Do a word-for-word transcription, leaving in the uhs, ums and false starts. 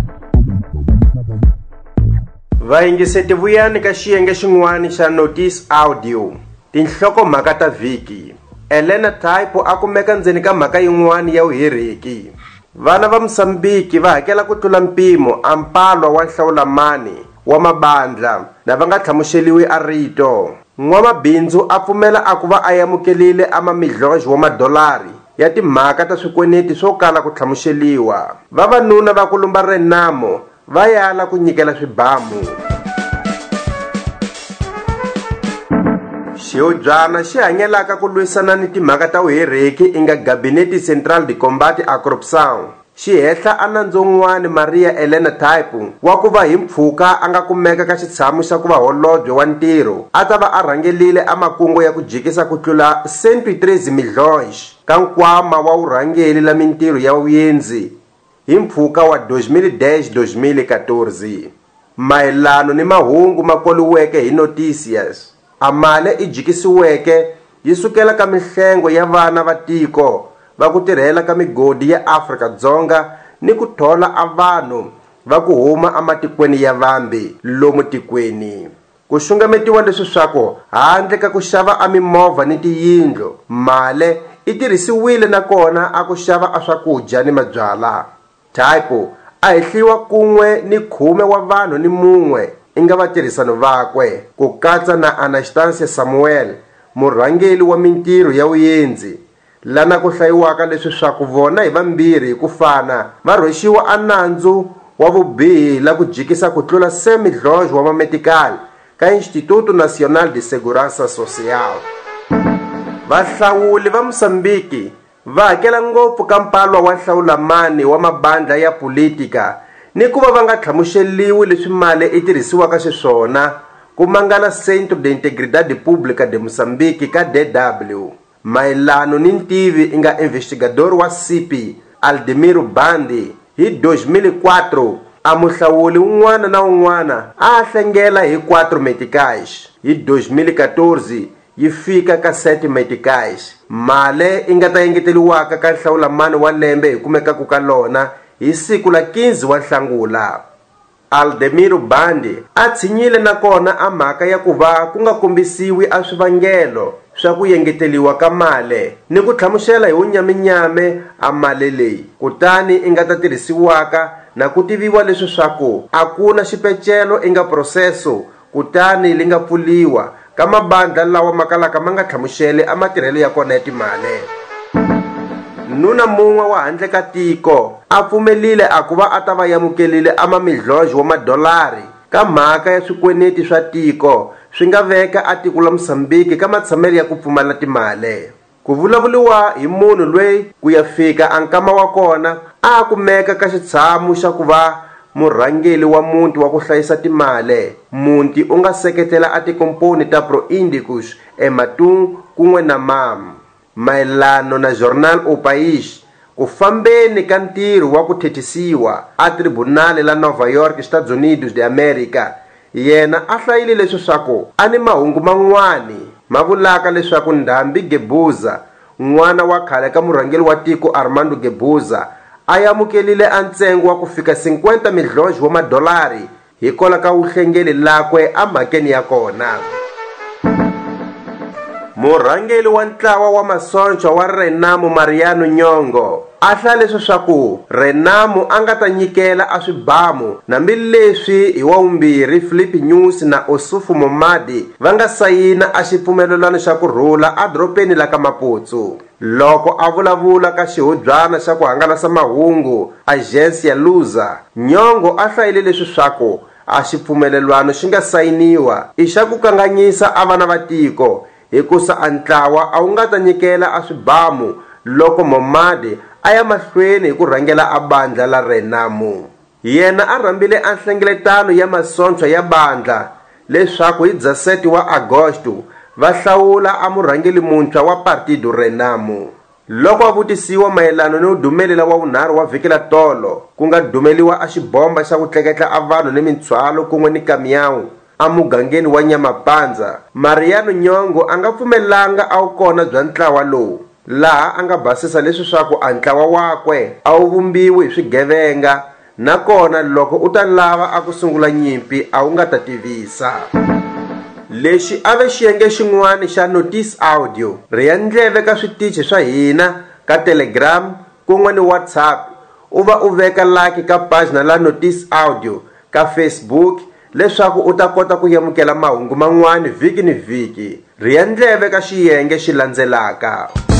Vaingiseti vuyani ka xiyenge xin'wana xa Notice Audio. Tinhloko mhaka ta vhiki. Elena Taipo a kumeka ndzeni ka mhaka yin'wana ya vuheriki. Vana va Mosambiki va hakela ku tlula mpimo a mpalwa wa nhlawulamani wa mabandla lava nga tlhamuxeliwi a rito. N'wamabindzu a pfumela a ku va a yamukelile amamilhonjo wa madolari ya timhaka ta swikweneti swo kala ku tlhamuxeliwa. Vavanuna va ku lumba renamo va yala ku nyikela swibamu. Xihodyana xi hanyelaka ku lwisana ni timhaka ta vuheriki inga Gabinete Central de Combate à Corrupção xi hehla a nandzu wun'wana Maria Elena Taipo wa ku va hi mpfhuka a nga kumeka ka xitshamo xa ku va holobye wa ntirho a ta va a rhangelile a makungu ya ku jikisa ku tlula cento e treze milhões ka nkwama wa vurhangeli la mintirho ya vuyenzi hi mpfhuka wa dois mil e dez a dois mil e quatorze. Mayelano ni mahungu ma koliweke hi Noticias, a mali i jikisiweke yi sukela ka mihlengo ya vana va tiko va ku tirhela ka migodi ya Afrika-Dzonga ni ku thola a vanhu va ku huma ematikweni ya vambe lomu tikweni. Ku xungametiwa leswi swako handle ka ku xava a mimovha ni tiyindlo, mali i tirhisiwile na kona a ku xava a swakudya ni mabyala. Taipo a hehliwa kun'we ni khume wa vanhu ni mun'we inga vatirhisano vakwe ku katsa na Anastasia Samuel, murhangeli wa mintirho ya vuyenzi, lana ku hlayiwaka leswi swa ku vona hi vambirhi hi ku fana va rhwexiwa a nandzu wa vubihi la ku jikisa ku tlula cem milhões wa mametikali ka Instituto Nacional de Segurança Social. Vahlawuli va Mosambiki va hakela ngopfu ka mpalwa wa nhlawulamani wa mabandla ya politika ni ku va va nga tlhamuxeliwi leswi mali i tirhisiwaka xiswona ku mangala Centro de Integridade Pública de Moçambique ka D W. Mayelano ni ntivi inga investigador wa C P Aldemiro Bandi hi dois mil e quatro a muhlawuli un'wana na un'wana a hlengela hi quatro meticais. Hi dois mil e quatorze yi fika ka sete meticais. Mali i nga ta engeteliwaka ka nhlawulamani wa lembe hi kumekaka ka lona hi siku la quinze wa Nhlangula. Aldemiro Bandi a tshinyile na kona a mhaka ya ku va ku nga kombisiwi a swivangelo swa ku engeteliwa ka mali ni ku tlhamuxela hi unyaminyame a mali leyi kutani i nga ta tirhisiwaka na ku tiviwa leswi swa ku a ku na xipecelo i nga proseso kutani li nga pfuliwa ka mabandla lawa makalaka ma nga tlhamuxele a matirhelo ya kona ya timali. Nuna mun'we wa handle ka tiko a pfumelile a ku va a ta va yamukelile amamilhonjo wa madolari ka mhaka ya swikweneti swa tiko swi nga veka a tiko la Mosambiki ka matshamelo ya ku pfumala timali. Ku vulavuliwa hi munhu loyi ku ya fika a nkama wa kona a kumeka ka xitshamo xa ku va murhangeli wa muti wa ku hlayisa timali. Muti u nga seketela a tikomponi ta Proindicus eMatung kun'we na M A M. Mayelano na Jornal O País, ku fambeni ka ntirho wa ku thethisiwa a tribunal la Nova York, Estados Unidos de America, yena a hlayile leswi swaku a ni mahungu man'wani ma vulaka leswaku Ndhambi Gebuza, n'wana wa khale ka murhangeli wa tiko Armando Gebuza, a yamukelile a ntsengo wa ku fika cinquenta milhões wa madolari hikola ka vuhlengeli lakwe a mhakeni ya kona. Murhangeli wa ntlawa wa masoncha wa Renamo Mariano Nyong'o a hlaya leswi swa ku Renamo a nga ta nyikela a swibamu nambileswi hi wa vumbirhi Philip Nyusi na Osufo Momadi va nga sayina a xipfumelelano xa ku rhula a doropeni la ka Maputsu. Loko a vulavula ka xihodyana xa ku hangalasa mahungu Agência Lusa, Nyong'o a hlayile leswi swa ku a xipfumelelano xi nga sayiniwa i xa ku kanganyisa a vana va tiko hikusa a ntlawa a wu nga ta nyikela a swibamu loko Momadi a ya mahlweni hi ku rhangela a bandla la Renamo. Yena a rhambile a nhlengeletano ya masoncha ya bandla leswaku hi dza-sete wa Agosto va hlawula a murhangeli muntshwa wa Partido Renamo. Loko a vutisiwa mayelano ni udumelela wa vunharhu wa vhiki la tolo ku nga dumeliwa a xibomba xa ku tleketla a vanhu ni mintswalo kun'we ni kamyawu a mugangeni wa Nyamapandza, Mariano Nyong'o a nga pfumelanga a wu kona bya ntlawa lowu, laha a nga basisa leswi swa ku a ntlawa wakwe a wu vumbiwi hi swigevenga nakona loko u ta lava a ku sungula nyimpi a wu nga ta tivisa. Lexi a ve xiyenge xin'wana xa Notice Audio. Riya ndleve ka switichi swa hina ka Telegram kun'we ni WhatsApp. U va u veka like ka page na la Notice Audio ka Facebook leswaku u ta kota ku yamukela mahungu man'wana vhiki ni vhiki. Riya ndleve ka xiyenge xi landzelaka.